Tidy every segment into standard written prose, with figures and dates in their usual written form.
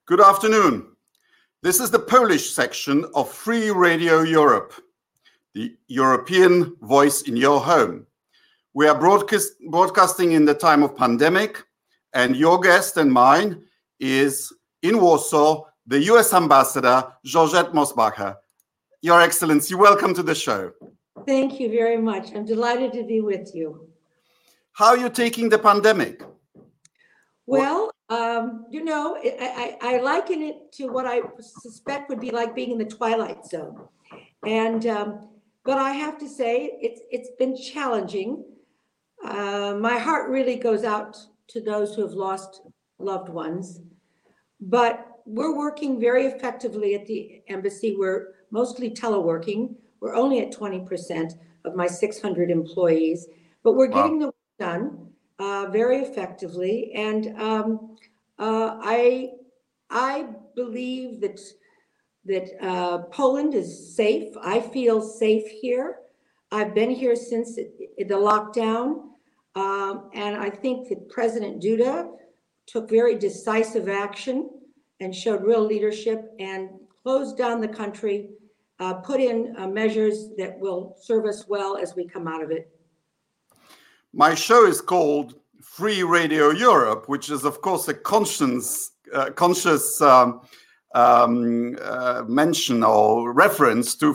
Good afternoon. This is the Polish section of Free Radio Europe, the European voice in your home. We are broadcasting in the time of pandemic, and your guest and mine is in Warsaw, the US Ambassador, Georgette Mosbacher. Your Excellency, welcome to the show. Thank you very much. I'm delighted to be with you. How are you taking the pandemic? Well, I liken it to what I suspect would be like being in the Twilight Zone. But I have to say, it's been challenging. My heart really goes out to those who have lost loved ones. But we're working very effectively at the embassy. We're mostly teleworking. We're only at 20% of my 600 employees, but we're getting the work done very effectively. And I believe that Poland is safe. I feel safe here. I've been here since the lockdown. And I think that President Duda took very decisive action and showed real leadership and closed down the country, put in measures that will serve us well as we come out of it. My show is called Free Radio Europe, which is, of course, a conscious mention or reference to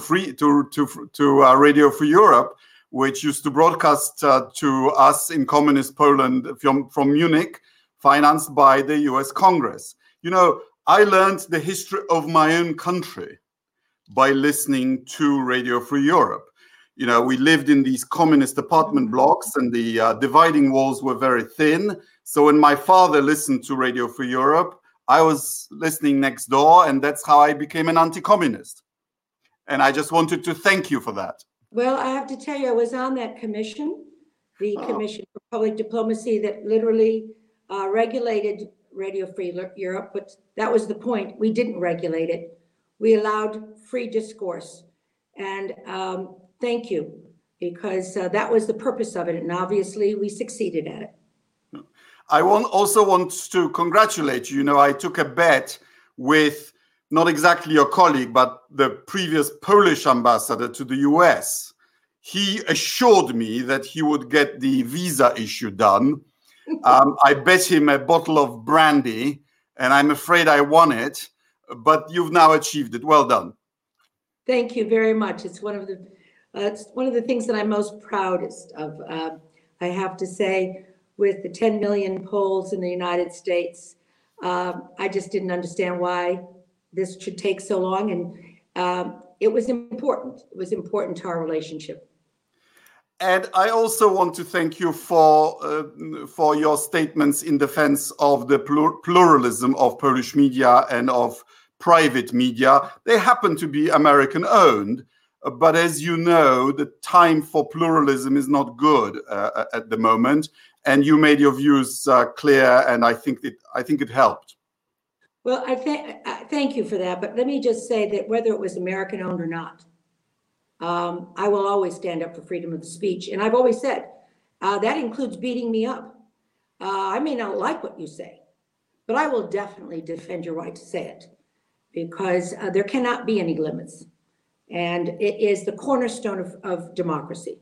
Radio Free Europe, which used to broadcast to us in communist Poland from Munich, financed by the US Congress. You know, I learned the history of my own country by listening to Radio Free Europe. You know, we lived in these communist apartment blocks and the dividing walls were very thin. So when my father listened to Radio Free Europe, I was listening next door, and that's how I became an anti-communist. And I just wanted to thank you for that. Well, I have to tell you, I was on that commission, the Commission for Public Diplomacy, that literally regulated Radio Free Europe, but that was the point. We didn't regulate it. We allowed free discourse. And thank you, because that was the purpose of it. And obviously we succeeded at it. I also want to congratulate you. You know, I took a bet with not exactly your colleague, but the previous Polish ambassador to the US. He assured me that he would get the visa issue done. I bet him a bottle of brandy, and I'm afraid I won it, but you've now achieved it. Well done. Thank you very much. It's one of the things that I'm most proudest of. I have to say, with the 10 million Poles in the United States, I just didn't understand why this should take so long. And it was important. It was important to our relationship. And I also want to thank you for your statements in defense of the pluralism of Polish media and of private media. They happen to be American owned, but as you know, the time for pluralism is not good at the moment. And you made your views clear, and I think it helped. Well, I thank you for that. But let me just say that whether it was American owned or not, I will always stand up for freedom of speech. And I've always said that includes beating me up. I may not like what you say, but I will definitely defend your right to say it, because there cannot be any limits. And it is the cornerstone of democracy.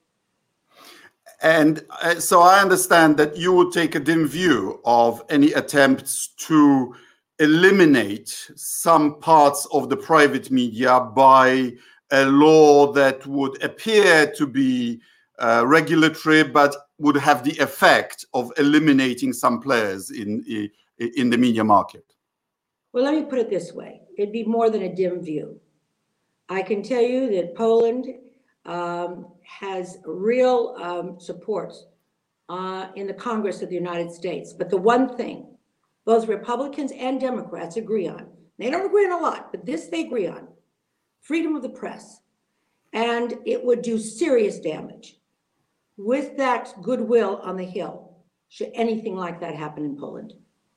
And so I understand that you would take a dim view of any attempts to eliminate some parts of the private media by a law that would appear to be regulatory, but would have the effect of eliminating some players in the media market. Well, let me put it this way. It'd be more than a dim view. I can tell you that Poland has real support in the Congress of the United States. But the one thing both Republicans and Democrats agree on, they don't agree on a lot, but this they agree on: freedom of the press. And it would do serious damage with that goodwill on the Hill should anything like that happen in Poland.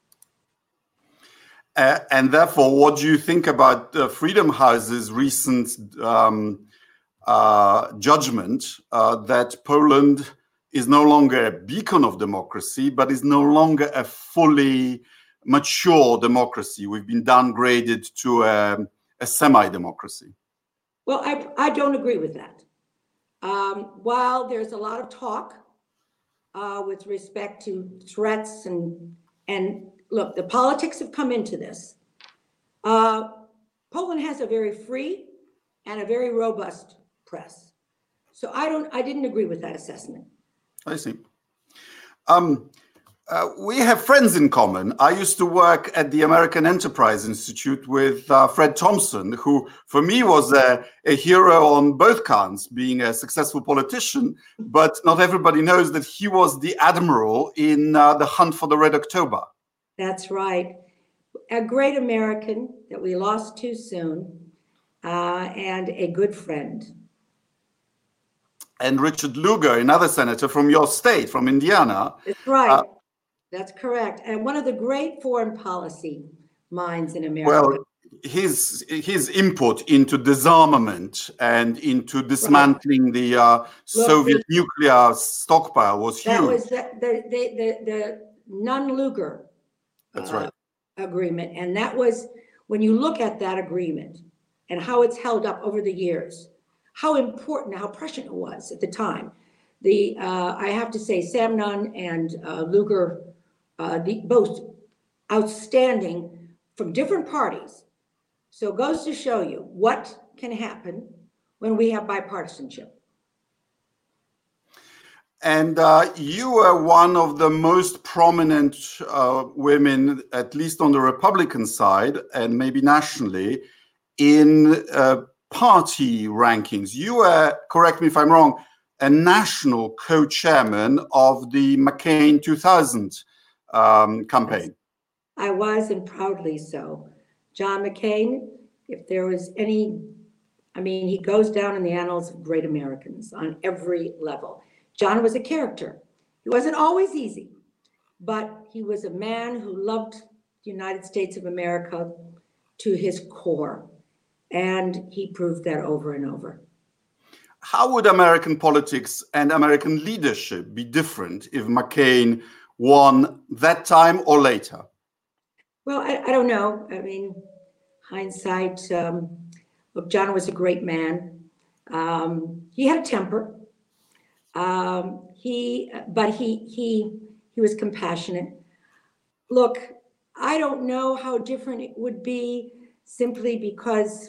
And therefore, what do you think about Freedom House's recent judgment that Poland is no longer a beacon of democracy, but is no longer a fully mature democracy. We've been downgraded to a semi-democracy. Well, I don't agree with that. While there's a lot of talk with respect to threats and look, the politics have come into this. Poland has a very free and a very robust press. So I didn't agree with that assessment. I see. We have friends in common. I used to work at the American Enterprise Institute with Fred Thompson, who for me was a hero on both counts, being a successful politician, but not everybody knows that he was the admiral in the hunt for the Red October. That's right. A great American that we lost too soon, and a good friend. And Richard Lugar, another senator from your state, from Indiana. That's right. That's correct. And one of the great foreign policy minds in America. Well, his input into disarmament and into dismantling the Soviet nuclear stockpile was huge. That was the Nunn-Lugar agreement. And that was, when you look at that agreement and how it's held up over the years, how important, how prescient it was at the time. I have to say, Sam Nunn and Lugar, both outstanding from different parties. So it goes to show you what can happen when we have bipartisanship. And you were one of the most prominent women, at least on the Republican side, and maybe nationally, in party rankings. You were, correct me if I'm wrong, a national co-chairman of the McCain 2000 campaign. I was, and proudly so. John McCain, if there was any, I mean, he goes down in the annals of great Americans on every level. John was a character. He wasn't always easy, but he was a man who loved the United States of America to his core. And he proved that over and over. How would American politics and American leadership be different if McCain won that time or later? Well, I don't know. I mean, hindsight, look, John was a great man. He had a temper. But he was compassionate. Look, I don't know how different it would be simply because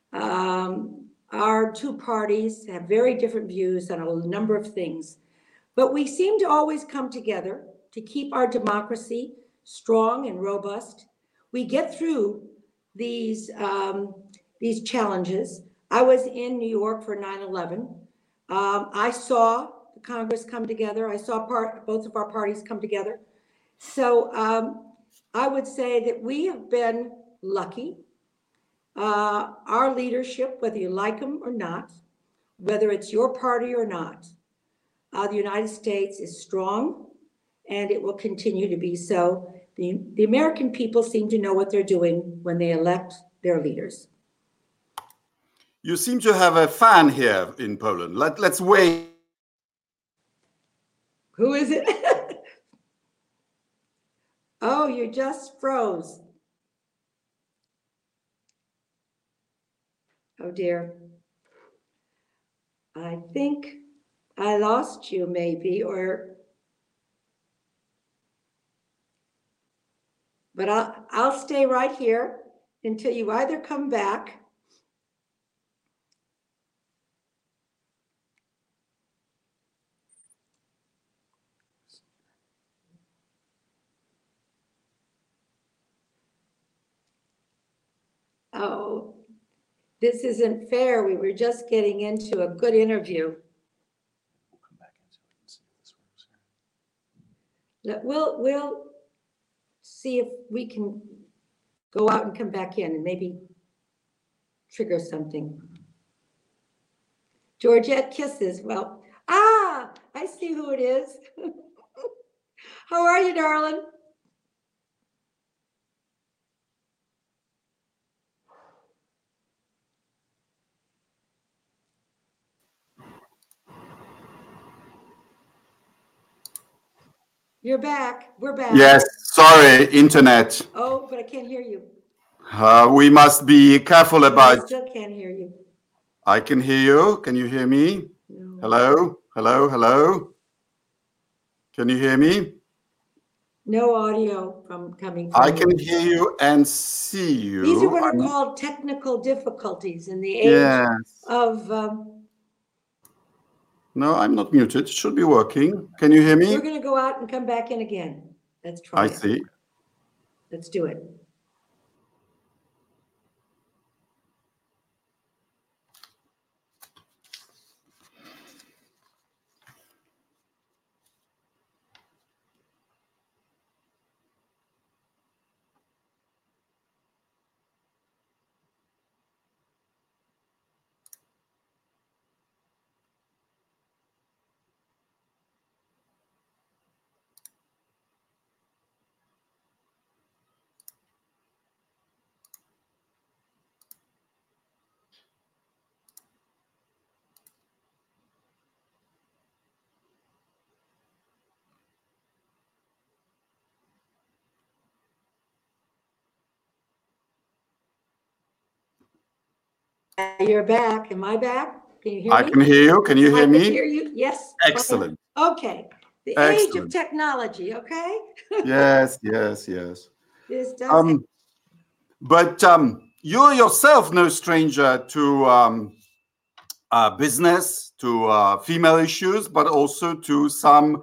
our two parties have very different views on a number of things, but we seem to always come together to keep our democracy strong and robust. We get through these challenges. I was in New York for 9/11. I saw the Congress come together. I saw both of our parties come together. So I would say that we have been lucky. Our leadership, whether you like them or not, whether it's your party or not, the United States is strong, and it will continue to be so. The American people seem to know what they're doing when they elect their leaders. You seem to have a fan here in Poland. Let's wait. Who is it? Oh, you just froze. Oh dear. I think I lost you maybe, but I'll stay right here until you either come back . Oh, this isn't fair. We were just getting into a good interview. We'll come back into it and see if this works. We'll see if we can go out and come back in and maybe trigger something. Georgette Kisses. Well, I see who it is. How are you, darling? You're back. We're back. Yes, sorry, internet. Oh, but I can't hear you. We must be careful I about. still can't hear you. I can hear you. Can you hear me? No. Hello? Hello? Hello? Can you hear me? No audio coming from I you. can hear you and see you. These are what are called technical difficulties in the age Yes. of. No, I'm not muted. It should be working. Can you hear me? We're going to go out and come back in again. Let's try I it. see. Let's do it. You're back. Am I back? Can you hear me? I can hear you. Can you I hear can me? hear you. Yes. Excellent. Okay. The age of Excellent. technology. Okay. Yes, yes, yes. This does. Happen. But you're yourself no stranger to business, to female issues, but also to some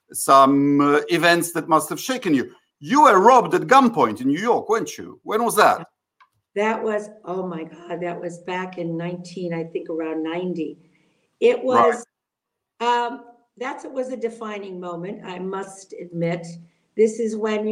events that must have shaken you. You were robbed at gunpoint in New York, weren't you? When was that? That was, oh my God, that was back in I think around 90. It was, right. That was a defining moment, I must admit. This is when,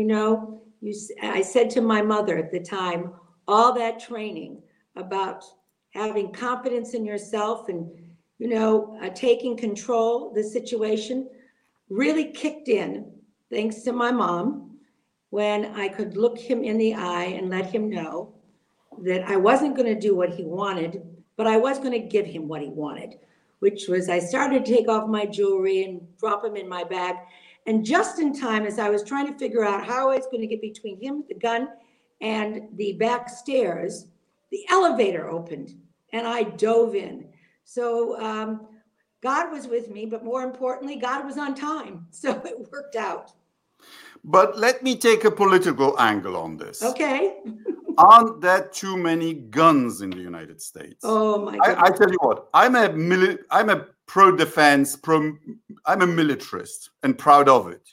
I said to my mother at the time, all that training about having confidence in yourself and, taking control of the situation really kicked in, thanks to my mom, when I could look him in the eye and let him know that I wasn't going to do what he wanted, but I was going to give him what he wanted, which was I started to take off my jewelry and drop him in my bag. And just in time, as I was trying to figure out how I was going to get between him, the gun, and the back stairs, the elevator opened and I dove in. So God was with me, but more importantly, God was on time. So it worked out. But let me take a political angle on this. Okay. Aren't there too many guns in the United States? Oh my God! I tell you what, I'm a pro-defense, I'm a militarist and proud of it.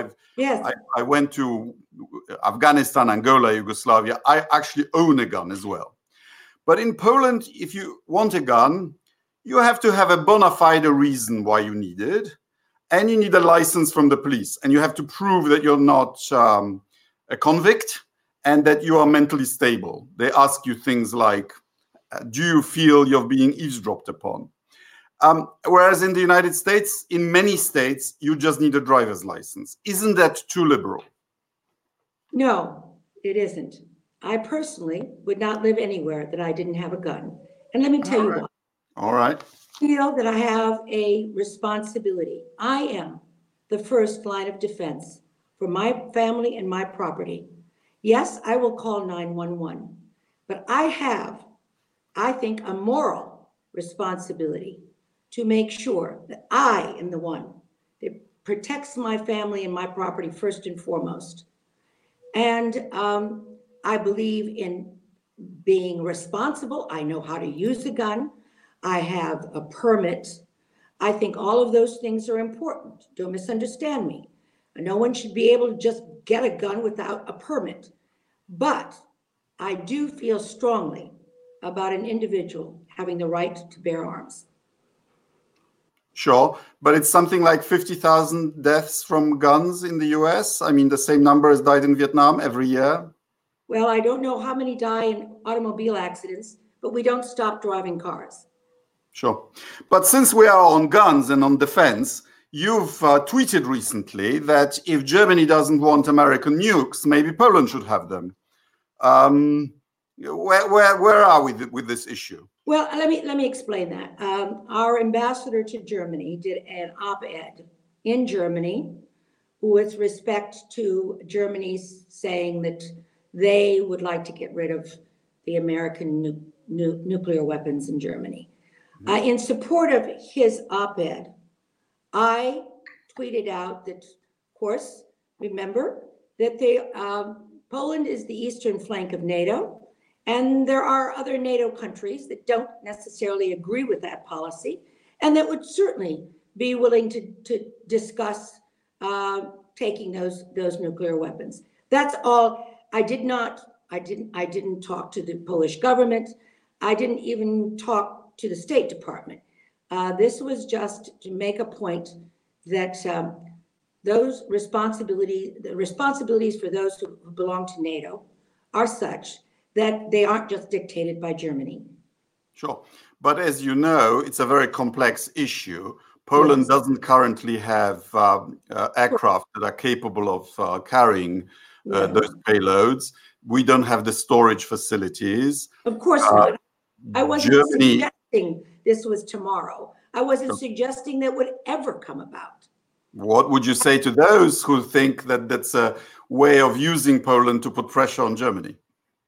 I went to Afghanistan, Angola, Yugoslavia. I actually own a gun as well. But in Poland, if you want a gun, you have to have a bona fide reason why you need it. And you need a license from the police. And you have to prove that you're not a convict and that you are mentally stable. They ask you things like, do you feel you're being eavesdropped upon? Whereas in the United States, in many states, you just need a driver's license. Isn't that too liberal? No, it isn't. I personally would not live anywhere that I didn't have a gun. And let me tell you why. All right. I feel that I have a responsibility. I am the first line of defense for my family and my property. Yes, I will call 911, but I have, I think, a moral responsibility to make sure that I am the one that protects my family and my property first and foremost. And I believe in being responsible. I know how to use a gun. I have a permit. I think all of those things are important. Don't misunderstand me. No one should be able to just get a gun without a permit. But I do feel strongly about an individual having the right to bear arms. Sure, but it's something like 50,000 deaths from guns in the US. I mean, the same number as died in Vietnam every year. Well, I don't know how many die in automobile accidents, but we don't stop driving cars. Sure. But since we are on guns and on defense, you've tweeted recently that if Germany doesn't want American nukes, maybe Poland should have them. Where are we with this issue? Well, let me explain that. Our ambassador to Germany did an op-ed in Germany with respect to Germany's saying that they would like to get rid of the American nuclear weapons in Germany. In support of his op-ed, I tweeted out that, of course, remember that Poland is the eastern flank of NATO, and there are other NATO countries that don't necessarily agree with that policy, and that would certainly be willing to discuss taking those nuclear weapons. That's all. I didn't talk to the Polish government. I didn't even talk to the State Department. This was just to make a point that the responsibilities for those who belong to NATO are such that they aren't just dictated by Germany. Sure. But as you know, it's a very complex issue. Poland doesn't currently have aircraft that are capable of carrying those payloads. We don't have the storage facilities. Of course not. I wasn't suggesting this was tomorrow. I wasn't suggesting that would ever come about. What would you say to those who think that that's a way of using Poland to put pressure on Germany?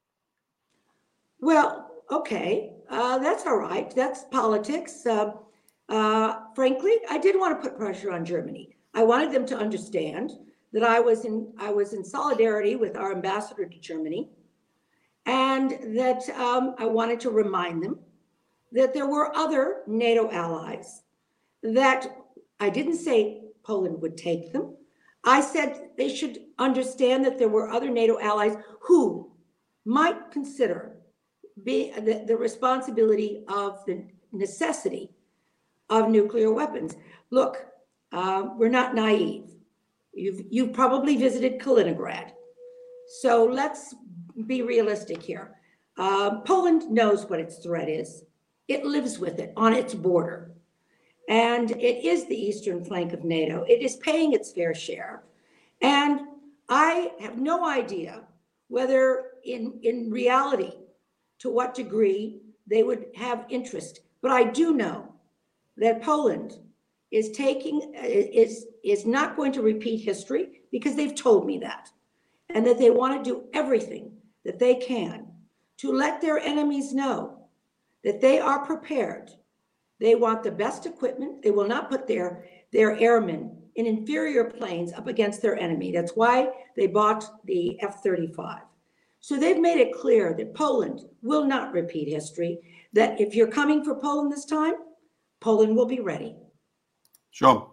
Well, okay, that's all right. That's politics. Frankly, I did want to put pressure on Germany. I wanted them to understand that I was in solidarity with our ambassador to Germany, and that I wanted to remind them that there were other NATO allies, that I didn't say Poland would take them. I said they should understand that there were other NATO allies who might consider the responsibility of the necessity of nuclear weapons. Look, we're not naive. You've probably visited Kaliningrad. So let's be realistic here. Poland knows what its threat is. It lives with it on its border. And it is the eastern flank of NATO. It is paying its fair share. And I have no idea whether in reality, to what degree they would have interest. But I do know that Poland is not going to repeat history, because they've told me that, and that they want to do everything that they can to let their enemies know that they are prepared. They want the best equipment. They will not put their airmen in inferior planes up against their enemy. That's why they bought the F-35. So they've made it clear that Poland will not repeat history, that if you're coming for Poland this time, Poland will be ready. Sure.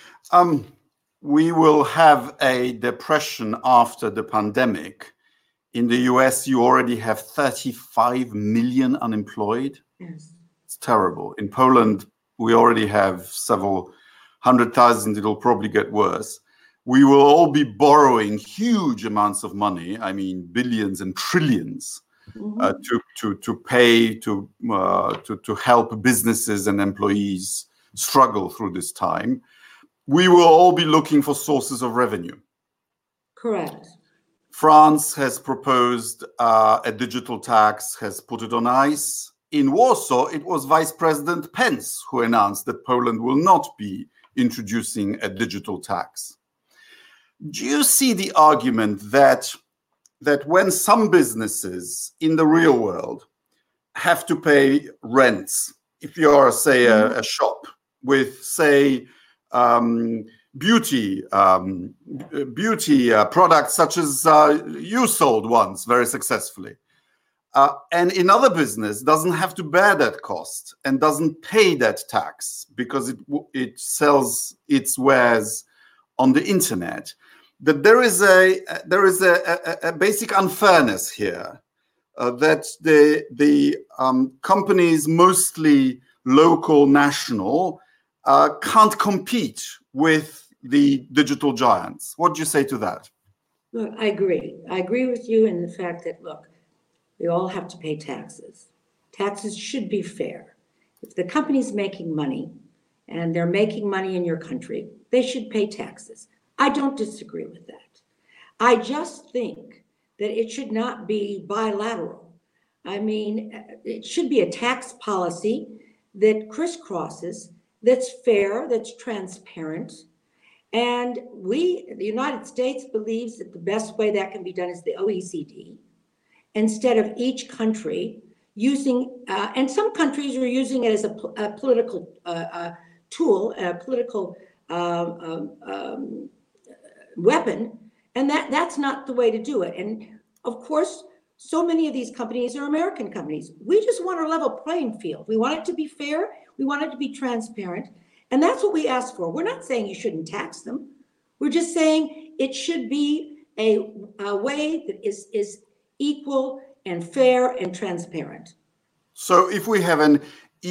We will have a depression after the pandemic. In the US, you already have 35 million unemployed. Yes. It's terrible. In Poland, we already have several 100,000. It'll probably get worse. We will all be borrowing huge amounts of money. I mean, billions and trillions to pay to help businesses and employees struggle through this time. We will all be looking for sources of revenue. Correct. France has proposed a digital tax, has put it on ice. In Warsaw, it was Vice President Pence who announced that Poland will not be introducing a digital tax. Do you see the argument that when some businesses in the real world have to pay rents, if you're, say, a shop with, say, beauty products such as you sold once very successfully, and another business doesn't have to bear that cost and doesn't pay that tax because it sells its wares on the internet, that there is a basic unfairness here, that the companies, mostly local, national, can't compete with the digital giants. What do you say to that? Look, I agree. I agree with you in the fact that, look, we all have to pay taxes. Taxes should be fair. If the company's making money and they're making money in your country, they should pay taxes. I don't disagree with that. I just think that it should not be bilateral. I mean, it should be a tax policy that crisscrosses, that's fair, that's transparent, And the United States believes that the best way that can be done is the OECD, instead of each country using, and some countries are using it as a political tool, a political weapon, and that's not the way to do it. And of course, so many of these companies are American companies. We just want a level playing field. We want it to be fair. We want it to be transparent. And that's what we ask for. We're not saying you shouldn't tax them. We're just saying it should be a way that is equal and fair and transparent. So if we have an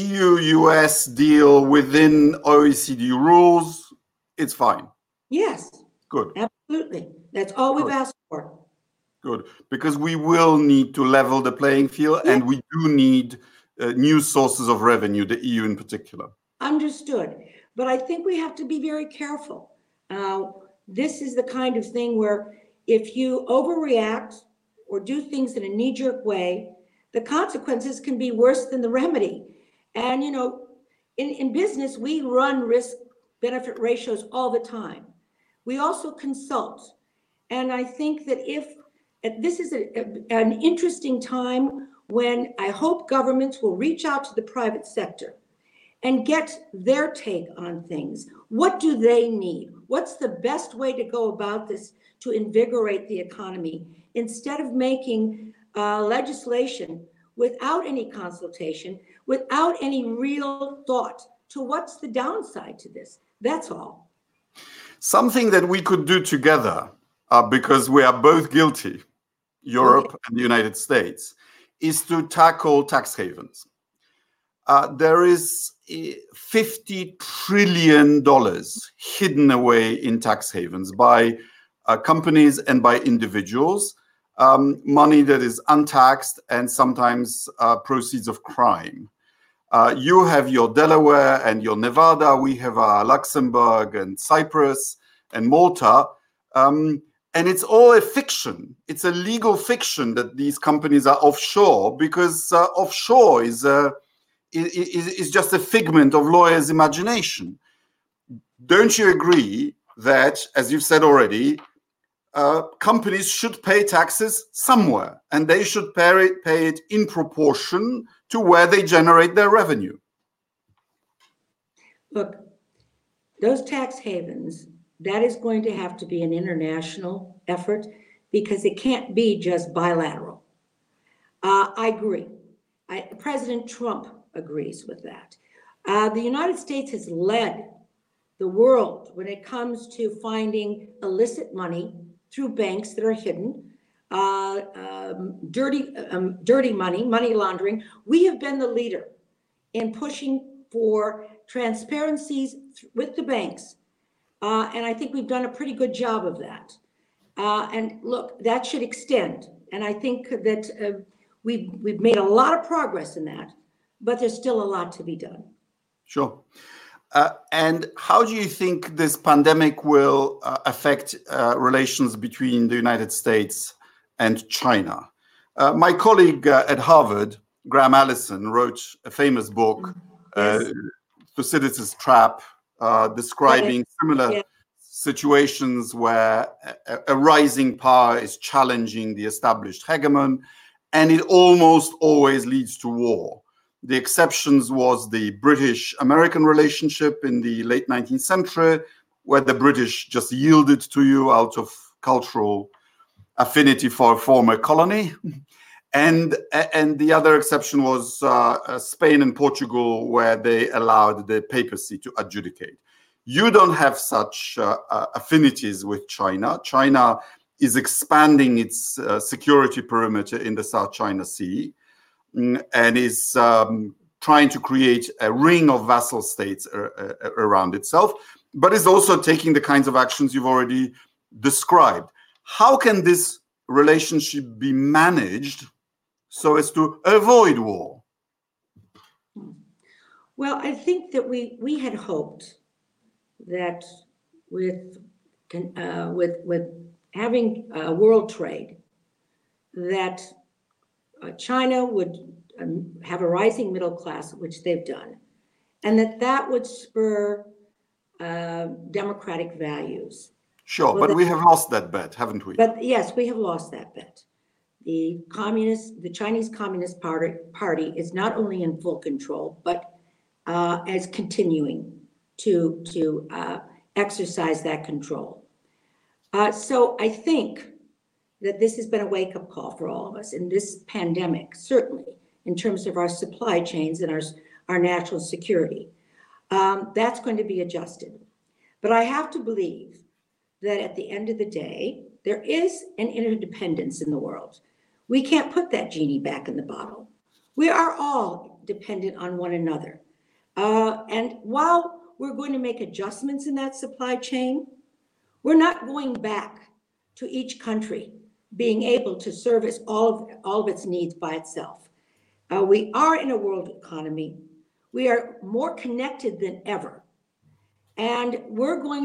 EU-US deal within OECD rules, it's fine. Yes. Good. Absolutely. That's all we've asked for. Good. Because we will need to level the playing field, and we do need new sources of revenue, the EU in particular. Understood. But I think we have to be very careful. This is the kind of thing where if you overreact or do things in a knee-jerk way, the consequences can be worse than the remedy. And, you know, in business, we run risk-benefit ratios all the time. We also consult. And I think that this is an interesting time when I hope governments will reach out to the private sector and get their take on things. What do they need? What's the best way to go about this to invigorate the economy, instead of making legislation without any consultation, without any real thought to what's the downside to this? That's all. Something that we could do together, because we are both guilty, Europe and the United States, is to tackle tax havens. There is $50 trillion hidden away in tax havens by companies and by individuals, money that is untaxed and sometimes proceeds of crime. You have your Delaware and your Nevada. We have our Luxembourg and Cyprus and Malta. And it's all a fiction. It's a legal fiction that these companies are offshore, because offshore is just a figment of lawyers' imagination. Don't you agree that, as you've said already, companies should pay taxes somewhere, and they should pay it in proportion to where they generate their revenue? Look, those tax havens, that is going to have to be an international effort, because it can't be just bilateral. I agree. President Trump agrees with that. The United States has led the world when it comes to finding illicit money through banks that are hidden, dirty money, money laundering. We have been the leader in pushing for transparencies with the banks. And I think we've done a pretty good job of that. And look, that should extend. And I think that we've made a lot of progress in that, but there's still a lot to be done. Sure. And how do you think this pandemic will affect relations between the United States and China? My colleague at Harvard, Graham Allison, wrote a famous book, Thucydides' Trap, describing similar situations where a rising power is challenging the established hegemon, and it almost always leads to war. The exceptions was the British-American relationship in the late 19th century, where the British just yielded to you out of cultural affinity for a former colony. And the other exception was Spain and Portugal, where they allowed the papacy to adjudicate. You don't have such affinities with China. China is expanding its security perimeter in the South China Sea, and is trying to create a ring of vassal states around itself, but is also taking the kinds of actions you've already described. How can this relationship be managed so as to avoid war? Well, I think that we had hoped that with having world trade, that China would have a rising middle class, which they've done, and that would spur democratic values. Sure, Well, but we have lost that bet, haven't we? But yes, we have lost that bet. The Chinese Communist Party is not only in full control, but is continuing to exercise that control. So I think that this has been a wake-up call for all of us in this pandemic, certainly in terms of our supply chains and our national security. That's going to be adjusted. But I have to believe that at the end of the day, there is an interdependence in the world. We can't put that genie back in the bottle. We are all dependent on one another. And while we're going to make adjustments in that supply chain, we're not going back to each country being able to service all of its needs by itself. We are in a world economy. We are more connected than ever. And we're going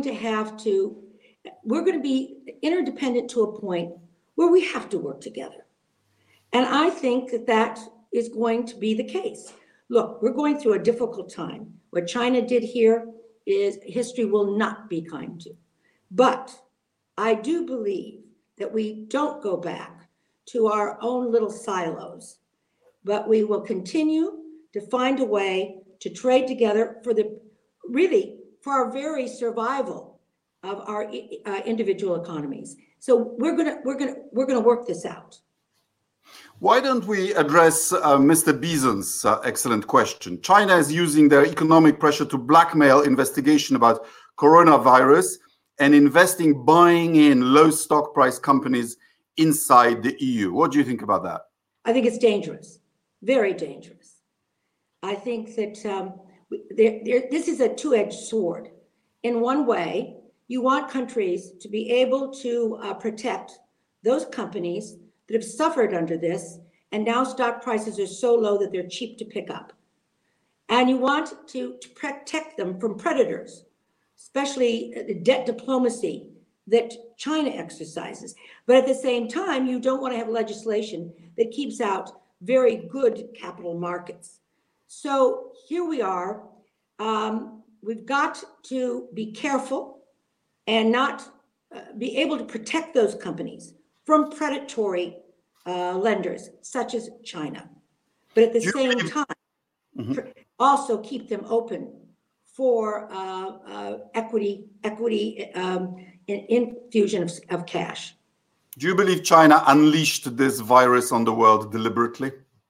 to be interdependent to a point where we have to work together. And I think that is going to be the case. Look, we're going through a difficult time. What China did here is history will not be kind to. But I do believe that we don't go back to our own little silos, but we will continue to find a way to trade together for our very survival of our individual economies. So we're gonna work this out. Why don't we address Mr. Bison's excellent question? China is using their economic pressure to blackmail investigation about coronavirus and buying in low stock price companies inside the EU. What do you think about that? I think it's dangerous, very dangerous. I think that this is a two-edged sword. In one way, you want countries to be able to protect those companies that have suffered under this, and now stock prices are so low that they're cheap to pick up. And you want to protect them from predators, especially the debt diplomacy that China exercises. But at the same time, you don't want to have legislation that keeps out very good capital markets. So here we are. We've got to be careful and not be able to protect those companies from predatory lenders such as China. But at the same time, also keep them open for equity infusion of cash. Do you believe China unleashed this virus on the world deliberately?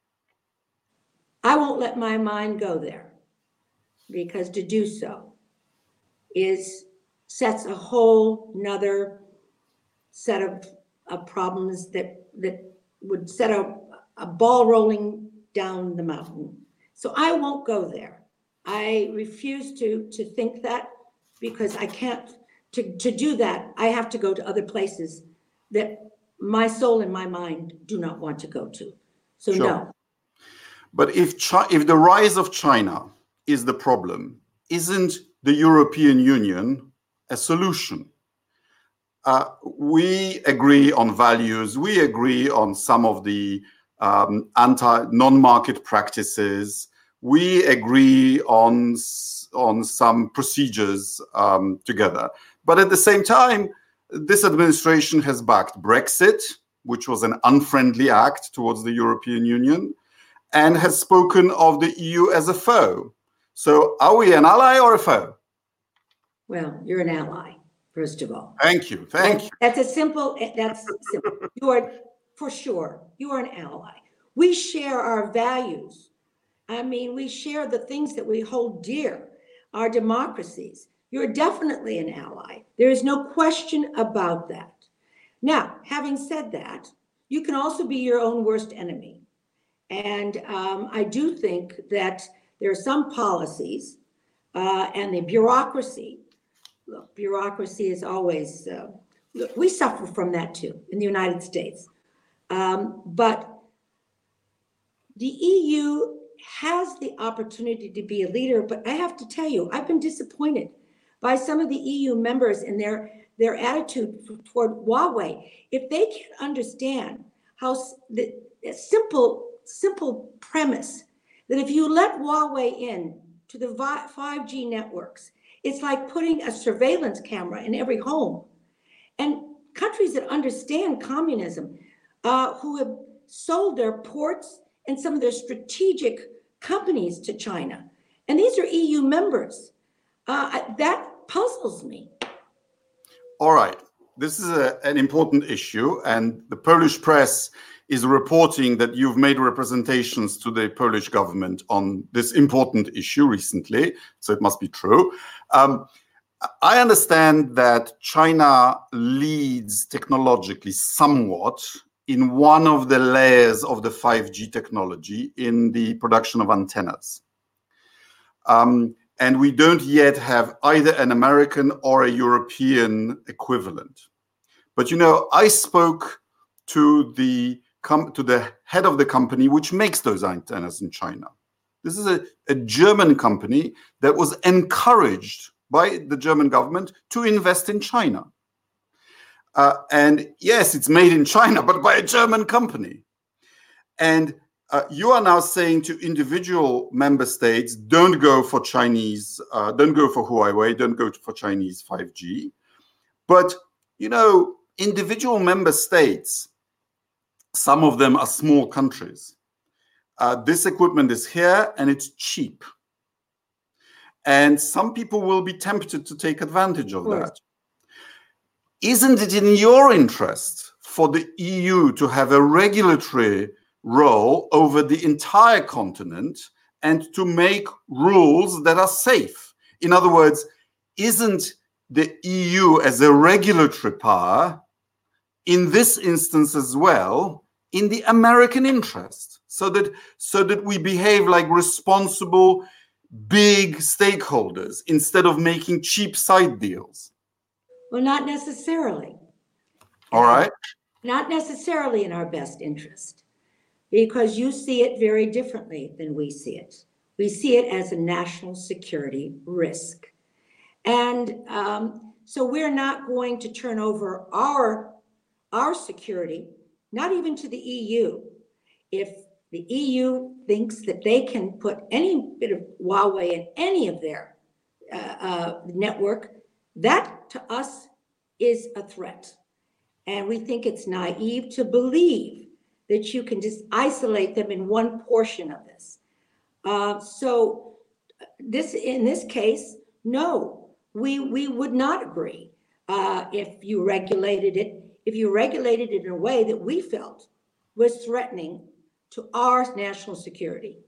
I won't let my mind go there, because to do so sets a whole nother set of problems that would set a ball rolling down the mountain. So I won't go there. I refuse to think that, because I can't. To do that, I have to go to other places that my soul and my mind do not want to go to. So sure. No. But if the rise of China is the problem, isn't the European Union a solution? We agree on values. We agree on some of the non-market practices. We agree on some procedures together. But at the same time, this administration has backed Brexit, which was an unfriendly act towards the European Union, and has spoken of the EU as a foe. So are we an ally or a foe? Well, you're an ally, first of all. Thank you. Thank you. That's simple. You are, for sure, you are an ally. We share our values. I mean, we share the things that we hold dear, our democracies. You're definitely an ally. There is no question about that. Now, having said that, you can also be your own worst enemy. And I do think that there are some policies and the bureaucracy. Look, bureaucracy is always, look, we suffer from that too in the United States. But the EU has the opportunity to be a leader, but I have to tell you, I've been disappointed by some of the EU members in their attitude toward Huawei. If they can't understand how the simple premise that if you let Huawei in to the 5G networks, It's like putting a surveillance camera in every home. And countries that understand communism, who have sold their ports and some of their strategic companies to China. And these are EU members. That puzzles me. All right. This is an important issue, and the Polish press is reporting that you've made representations to the Polish government on this important issue recently, so it must be true. I understand that China leads technologically somewhat in one of the layers of the 5G technology in the production of antennas. And we don't yet have either an American or a European equivalent. But I spoke to the head of the company which makes those antennas in China. This is a German company that was encouraged by the German government to invest in China. And yes, it's made in China, but by a German company. And you are now saying to individual member states, don't go for Chinese, don't go for Huawei, don't go for Chinese 5G. But, individual member states, some of them are small countries. This equipment is here and it's cheap. And some people will be tempted to take advantage of that. Isn't it in your interest for the EU to have a regulatory role over the entire continent and to make rules that are safe? In other words, isn't the EU as a regulatory power in this instance as well in the American interest, so that we behave like responsible big stakeholders instead of making cheap side deals? Well, not necessarily. All right. Not necessarily in our best interest, because you see it very differently than we see it. We see it as a national security risk. And so we're not going to turn over our security, not even to the EU. If the EU thinks that they can put any bit of Huawei in any of their network, that to us is a threat. And we think it's naive to believe that you can just isolate them in one portion of this. So in this case, no, we would not agree if you regulated it in a way that we felt was threatening to our national security.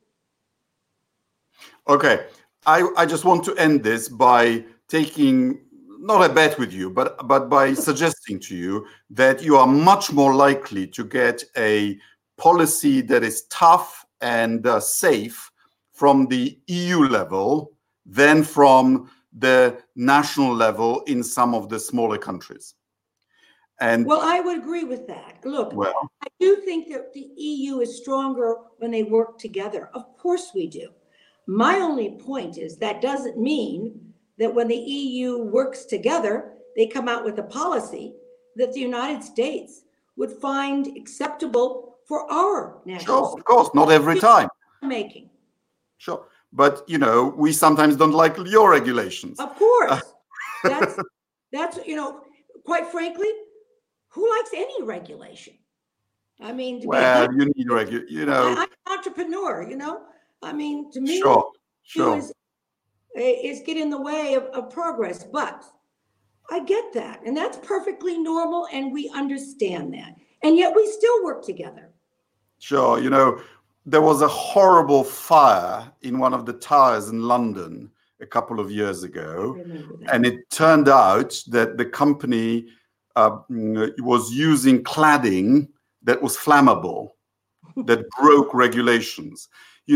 Okay, I just want to end this by taking not a bet with you, but by suggesting to you that you are much more likely to get a policy that is tough and safe from the EU level than from the national level in some of the smaller countries. And well, I would agree with that. Look, I do think that the EU is stronger when they work together. Of course we do. My only point is that doesn't mean that when the EU works together, they come out with a policy that the United States would find acceptable for our national security. Of course, not every time. Making. Sure. But, we sometimes don't like your regulations. Of course. That's quite frankly, who likes any regulation? I mean, you need regulation, I'm an entrepreneur, I mean, to me, sure. Is get in the way of progress. But I get that. And that's perfectly normal. And we understand that. And yet we still work together. Sure. There was a horrible fire in one of the towers in London a couple of years ago. And it turned out that the company was using cladding that was flammable, that broke regulations.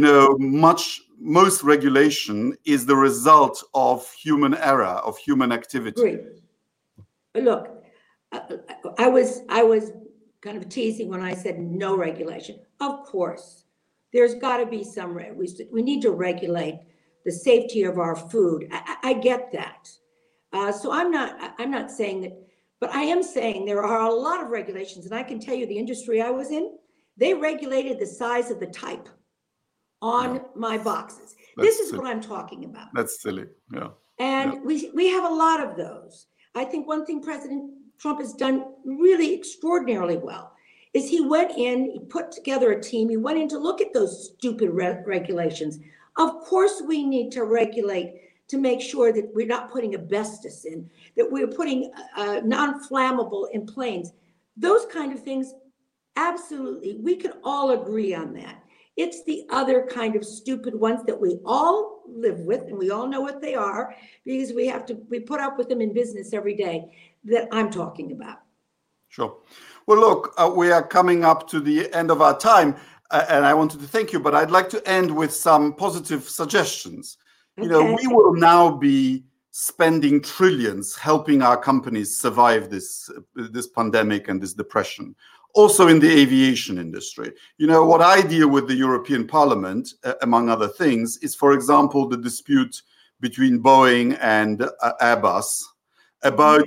Most regulation is the result of human error, of human activity. Great. Look, I was kind of teasing when I said no regulation. Of course, there's got to be some. We need to regulate the safety of our food. I get that. So I'm not saying that, but I am saying there are a lot of regulations, and I can tell you the industry I was in, they regulated the size of the type on my boxes. This is what I'm talking about. That's silly. Yeah. And we have a lot of those. I think one thing President Trump has done really extraordinarily well is he went in, he put together a team, he went in to look at those stupid regulations. Of course, we need to regulate to make sure that we're not putting asbestos in, that we're putting non-flammable in planes. Those kind of things, absolutely, we can all agree on that. It's the other kind of stupid ones that we all live with, and we all know what they are because we put up with them in business every day, that I'm talking about. Sure. Well, look, we are coming up to the end of our time, and I wanted to thank you, but I'd like to end with some positive suggestions. Okay. You know, we will now be spending trillions helping our companies survive this pandemic and this depression. Also in the aviation industry. You know, what I deal with the European Parliament, among other things, is, for example, the dispute between Boeing and Airbus about,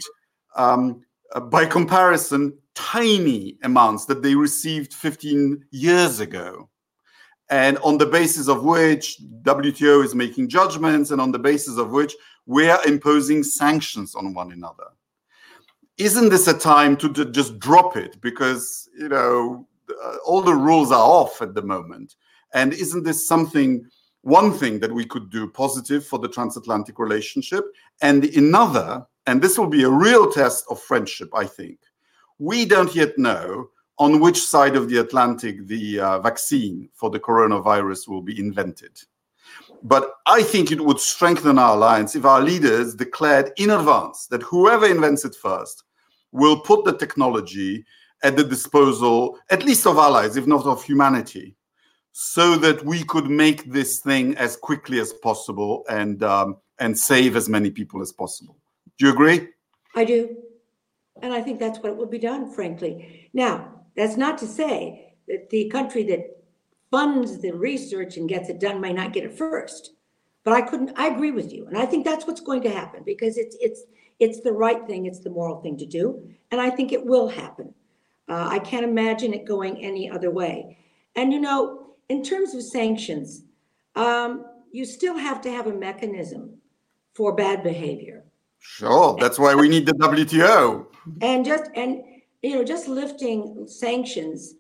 by comparison, tiny amounts that they received 15 years ago. And on the basis of which WTO is making judgments and on the basis of which we are imposing sanctions on one another. Isn't this a time to just drop it? Because, you know, all the rules are off at the moment. And isn't this one thing that we could do positive for the transatlantic relationship? And another, and this will be a real test of friendship, I think. We don't yet know on which side of the Atlantic the vaccine for the coronavirus will be invented. But I think it would strengthen our alliance if our leaders declared in advance that whoever invents it first will put the technology at the disposal, at least of allies, if not of humanity, so that we could make this thing as quickly as possible and save as many people as possible. Do you agree? I do. And I think that's what will be done, frankly. Now, that's not to say that the country that funds the research and gets it done may not get it first. But I agree with you. And I think that's what's going to happen because it's the right thing. It's the moral thing to do. And I think it will happen. I can't imagine it going any other way. And, you know, in terms of sanctions, you still have to have a mechanism for bad behavior. Sure. That's why we need the WTO. And just lifting sanctions,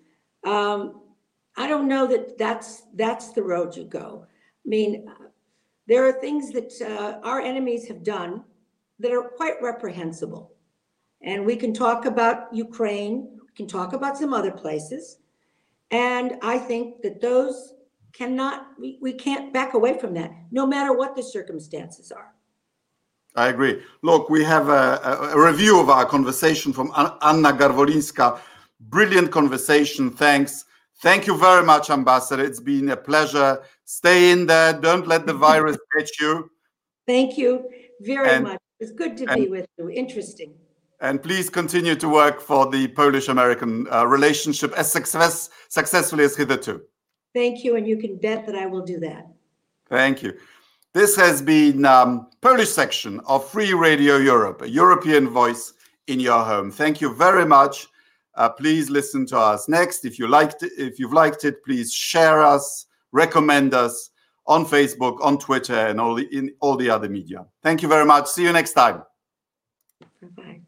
I don't know that that's the road you go. I mean, there are things that our enemies have done that are quite reprehensible. And we can talk about Ukraine, we can talk about some other places. And I think that those we can't back away from that, no matter what the circumstances are. I agree. Look, we have a review of our conversation from Anna Garwolinska. Brilliant conversation. Thanks. Thank you very much, Ambassador. It's been a pleasure. Stay in there. Don't let the virus get you. Thank you very much. It's good to be with you. Interesting. And please continue to work for the Polish-American relationship as successfully as hitherto. Thank you. And you can bet that I will do that. Thank you. This has been Polish section of Free Radio Europe, a European voice in your home. Thank you very much. Please listen to us next. If you've liked it, please share us, recommend us on Facebook, on Twitter, and in all the other media. Thank you very much. See you next time. Bye-bye.